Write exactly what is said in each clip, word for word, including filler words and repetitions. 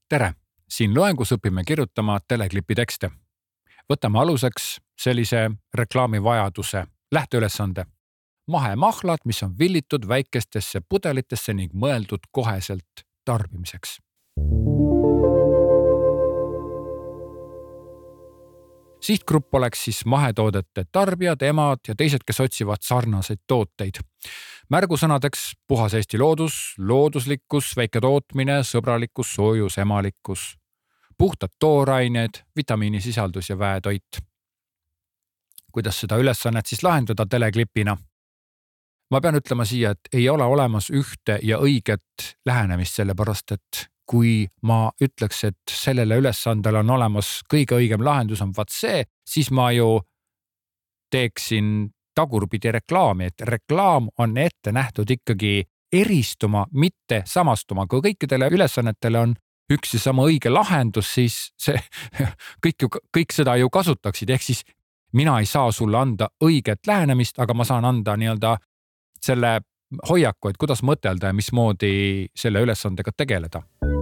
Tere! Siin loengus õpime kirjutama teleklipi tekste. Võtame aluseks sellise reklaami vajaduse, lähteülesande. Mahemahlad, mis on villitud väikestesse pudelitesse ning mõeldud koheselt tarbimiseks. Sihtgrupp oleks siis mahetoodete tarbijad, emad ja teised, kes otsivad sarnaseid tooteid. Märgusõnadeks puhas Eesti loodus, looduslikkus, väike tootmine, sõbralikkus, soojus, emalikkus, puhtad toorained, vitamiinisisaldus ja väetoit. Kuidas seda ülesannet siis lahendada teleklipina? Ma pean ütlema siia, et ei ole olemas ühte ja õiget lähenemist, sellepärast et kui ma ütleks, et sellele ülesandele on olemas kõige õigem lahendus on vaat see, siis ma ju teeksin tagurpidi reklaami, et reklaam on ette nähtud ikkagi eristuma, mitte samastuma. Kui kõikidele ülesannetele on üks ja sama õige lahendus, siis see, kõik, ju, kõik seda ju kasutaksid. Ehk siis mina ei saa sulle anda õiget lähenemist, aga ma saan anda nii-öelda selle hoiaku, et kuidas mõtelda ja mismoodi selle ülesandega tegeleda.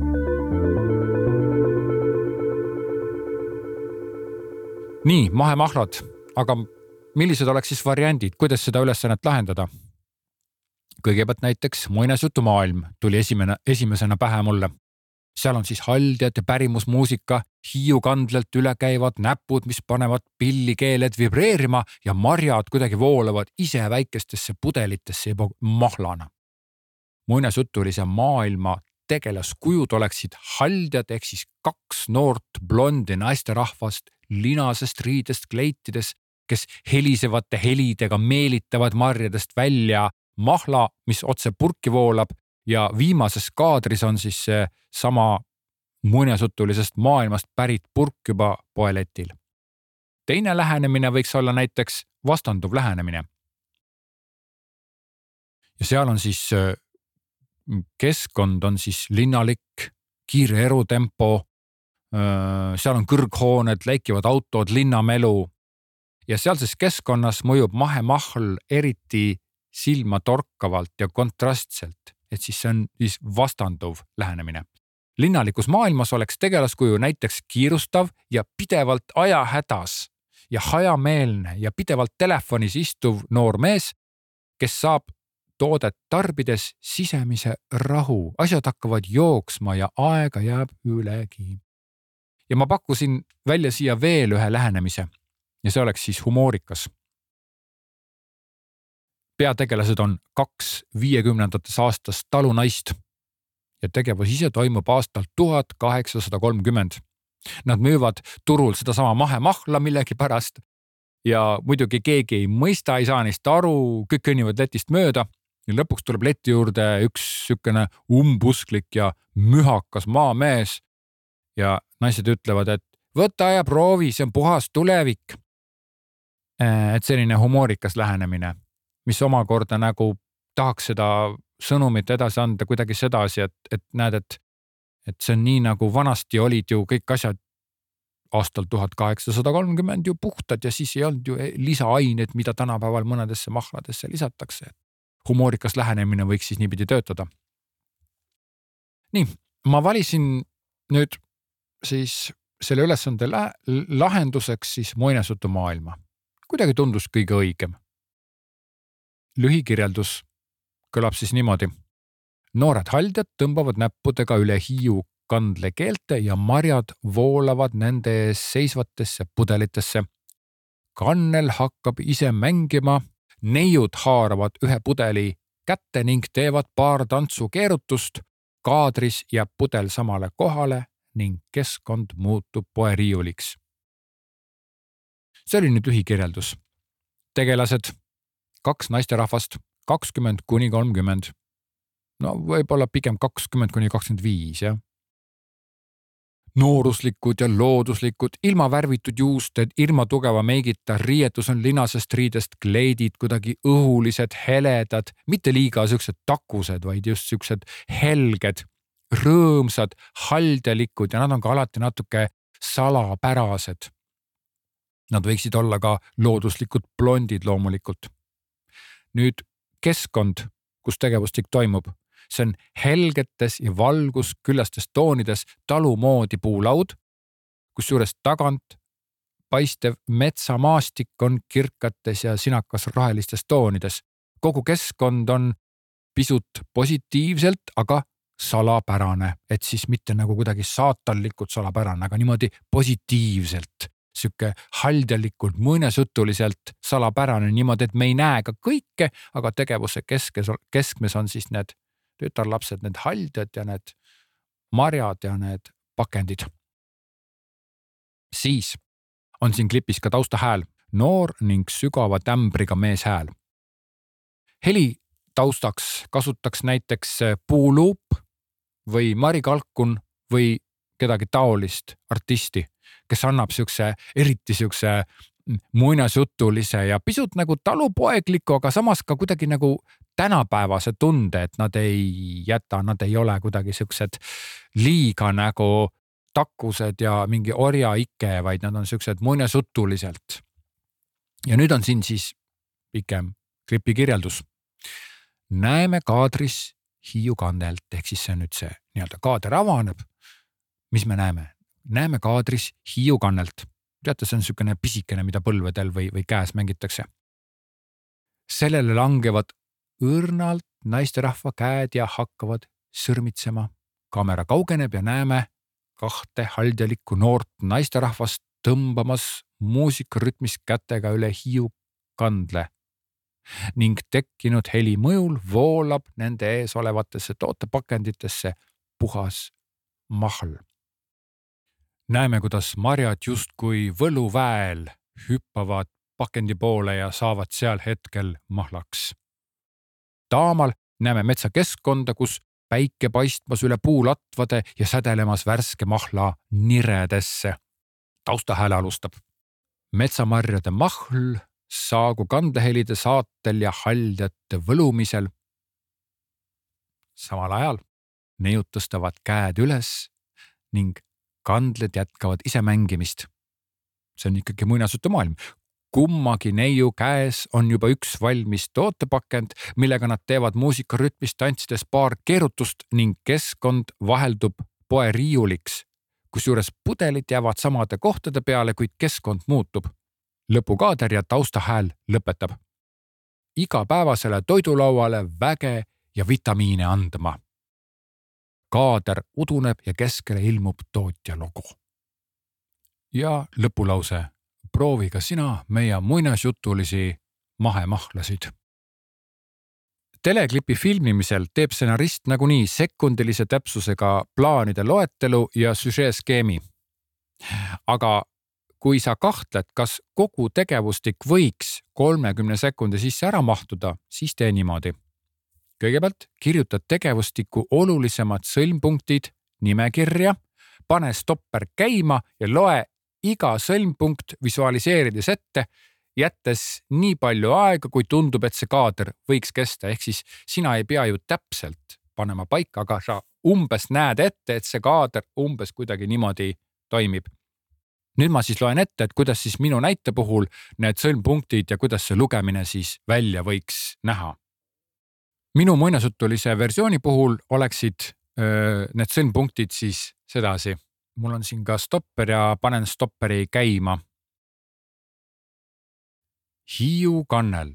Nii, mahemahlad, aga millised oleks siis variandid, kuidas seda ülesannet lahendada? Kõigepealt näiteks muinasjutumaailm tuli esimene, esimesena pähe mulle. Seal on siis haldjad ja pärimusmuusika, hiiukandlelt üle käivad näpud, mis panevad pillikeeled vibreerima ja marjad kuidagi voolavad ise väikestesse pudelitesse juba mahlana. Muinasjutulise maailma tegelaskujud oleksid haldjad ehk siis kaks noort blondi naisterahvast linasest riidest kleitides, kes helisevate helidega meelitavad marjadest välja mahla, mis otse purki voolab ja viimases kaadris on siis see sama muinasjutulisest maailmast pärit purk juba poeletil. Teine lähenemine võiks olla näiteks vastanduv lähenemine. Ja seal on siis keskkond on siis linnalik, kiire erutempo, seal on kõrghooned, läikivad autod, linnamelu ja sealses keskkonnas mõjub mahemahl eriti silma torkavalt ja kontrastselt, et siis see on siis vastanduv lähenemine. Linnalikus maailmas oleks tegelaskuju näiteks kiirustav ja pidevalt ajahädas ja hajameelne ja pidevalt telefonis istuv noor mees, kes saab toodet tarbides sisemise rahu. Asjad hakkavad jooksma ja aega jääb ülegi. Ja ma pakkusin välja siia veel ühe lähenemise ja see oleks siis humoorikas. Peategelased on kaks viiekümnendates aastast talunaist ja tegevus ise toimub aastal tuhat kaheksasada kolmkümmend. Nad müüvad turul seda sama mahemahla millegi pärast ja muidugi keegi ei mõista, ei saa neist aru, kõik kõnnivad letist mööda ja lõpuks tuleb leti juurde üks sükene umbusklik ja mühakas maamees ja naised ütlevad, et võta ja proovi, see on puhas tulevik. Et selline humoorikas lähenemine, mis omakorda nagu tahaks seda sõnumit edasi anda kuidagi sedasi, et, et näed, et, et see on nii nagu vanasti olid ju kõik asjad aastal tuhat kaheksasada kolmkümmend ju puhtad ja siis ei olnud ju lisaained, mida tänapäeval mõnedesse mahladesse lisatakse. Humoorikas lähenemine võiks siis niipidi töötada. Nii, ma valisin nüüd siis selle ülesande lahenduseks siis muinasjutumaailma. Kuidagi tundus kõige õigem. Lühikirjeldus kõlab siis niimoodi. Noored haldjad tõmbavad näppudega üle hiiu kandlekeelte ja marjad voolavad nende ees seisvatesse pudelitesse. Kannel hakkab ise mängima, neiud haaravad ühe pudeli kätte ning teevad paar tantsu keerutust, kaadris jääb pudel samale kohale ning keskkond muutub poeriiuliks. See oli nüüd lühikirjeldus. Tegelased, kaks naisterahvast, kakskümmend kuni kolmkümmend. No võib-olla pigem kakskümmend kuni kakskümmend viis, jah. Nooruslikud ja looduslikud, ilma värvitud juusted, ilma tugeva meigita, riietus on linasest riidest kleidid, kuidagi õhulised, heledad, mitte liiga süksed takused, vaid just süksed helged, rõõmsad, haldjalikud ja nad on ka alati natuke salapärased. Nad võiksid olla ka looduslikud blondid loomulikult. Nüüd keskkond, kus tegevustik toimub, see on helgetes ja valgusküllastes toonides talumoodi puulaud, kusjuures tagant paistev metsamaastik on kirkates ja sinakas rohelistes toonides. Kogu keskkond on pisut positiivselt, aga salapärane, et siis mitte nagu kuidagi saatanlikult salapärane, aga niimoodi positiivselt, siuke haldjalikult, muinasjutuliselt salapärane niimoodi, et me ei näe ka kõike, aga tegevuse keskes, keskmes on siis need tütarlapsed, need haldjad ja need marjad ja need pakendid. Siis on siin klipis ka taustahääl, noor ning sügava tämbriga meeshääl. Heli taustaks kasutaks näiteks puuluup või Mari Kalkun või kedagi taolist artisti, kes annab siukse, eriti siukse muinasjutulise ja pisut nagu talupoegliku, aga samas ka kuidagi nagu tänapäevase tunde, et nad ei jäta, nad ei ole kuidagi siuksed liiga nagu takkused ja mingi orja ikke, vaid nad on siuksed muinasjutuliselt. Ja nüüd on siin siis pikem klipi kirjeldus. Näeme kaadris Hiiu kannelt, ehk siis see on nüüd see nii-öelda kaader avaneb. Mis me näeme? Näeme kaadris Hiiu kannelt. Teate, see on siukene pisikene, mida põlvedel või, või käes mängitakse. Sellele langevad õrnalt naisterahva käed ja hakkavad sõrmitsema. Kaamera kaugeneb ja näeme kahte haldjalikku noort naisterahvast tõmbamas muusikarütmis kätega üle Hiiu kandle ning tekkinud heli mõjul voolab nende ees olevatesse tootepakenditesse puhas mahl. Näeme, kuidas marjad justkui võluväel hüppavad pakendi poole ja saavad seal hetkel mahlaks. Taamal näeme metsakeskkonda, kus päike paistmas üle puulatvade ja sädelemas värske mahla niredesse. Taustahääle alustab. Metsamarjade mahl saagu kandehelide saatel ja haldjate võlumisel. Samal ajal neiud tõstavad käed üles ning kandled jätkavad ise mängimist. See on ikkagi muinasjutu maailm. Kummagi neiu käes on juba üks valmis tootepakend, millega nad teevad muusikarütmis tantsides paar keerutust ning keskkond vaheldub poe riiuliks, kusjuures pudelid jäävad samade kohtade peale, kuid keskkond muutub. Lõpukaader ja taustahääl lõpetab. Igapäevasele toidulauale väge ja vitamiine andma. Kaader uduneb ja keskele ilmub tootja logo. Ja lõpulause. Proovi ka sina meie muinasjutulisi mahemahlasid. Teleklipi filmimisel teeb stsenarist nagunii sekundilise täpsusega plaanide loetelu ja süžeeskeemi. Aga kui sa kahtled, kas kogu tegevustik võiks kolmekümne sekundi sisse ära mahtuda, siis tee niimoodi. Kõigepealt kirjutad tegevustiku olulisemad sõlmpunktid nimekirja, pane stopper käima ja loe iga sõlmpunkt visualiseerides ette, jättes nii palju aega, kui tundub, et see kaader võiks kesta. Ehk siis sina ei pea ju täpselt panema paika, aga sa umbes näed ette, et see kaader umbes kuidagi niimoodi toimib. Nüüd ma siis loen ette, et kuidas siis minu näite puhul need sõlmpunktid ja kuidas see lugemine siis välja võiks näha. Minu muinasjutulise versiooni puhul oleksid öö, need sõlmpunktid siis sedasi. Mul on siin ka stopper ja panen stopperi käima. Hiiu kannel.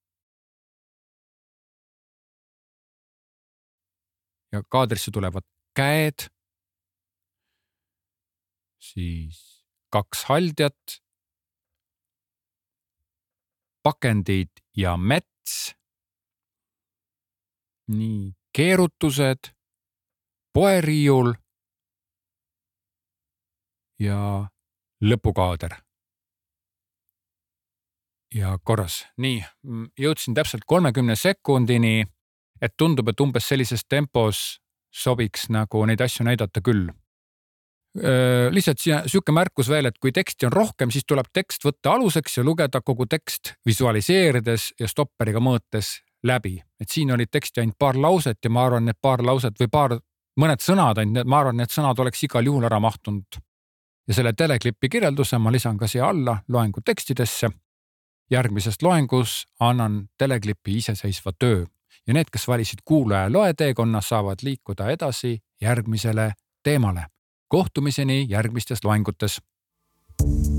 Ja kaadrisse tulevad käed. Siis kaks haldjat. Pakendid ja mets. Nii, keerutused. Poeriiul. Ja lõpukaader. Ja korras. Nii, jõudsin täpselt kolmekümne sekundini, et tundub, et umbes sellises tempos sobiks nagu neid asju näidata küll. Lihtsalt siuke märkus veel, et kui teksti on rohkem, siis tuleb tekst võtta aluseks ja lugeda kogu tekst visualiseerides ja stopperiga mõõtes läbi. Et siin oli teksti ainult paar lauset ja ma arvan, need paar lauset või paar, mõned sõnad ainult, ma arvan, need sõnad oleks igal juhul ära mahtunud. Ja selle teleklipi kirjelduse ma lisan ka siia alla loengu tekstidesse. Järgmisest loengus annan teleklipi iseseisva töö ja need, kes valisid kuulaja loe teekonna, saavad liikuda edasi järgmisele teemale. Kohtumiseni järgmistes loengutes.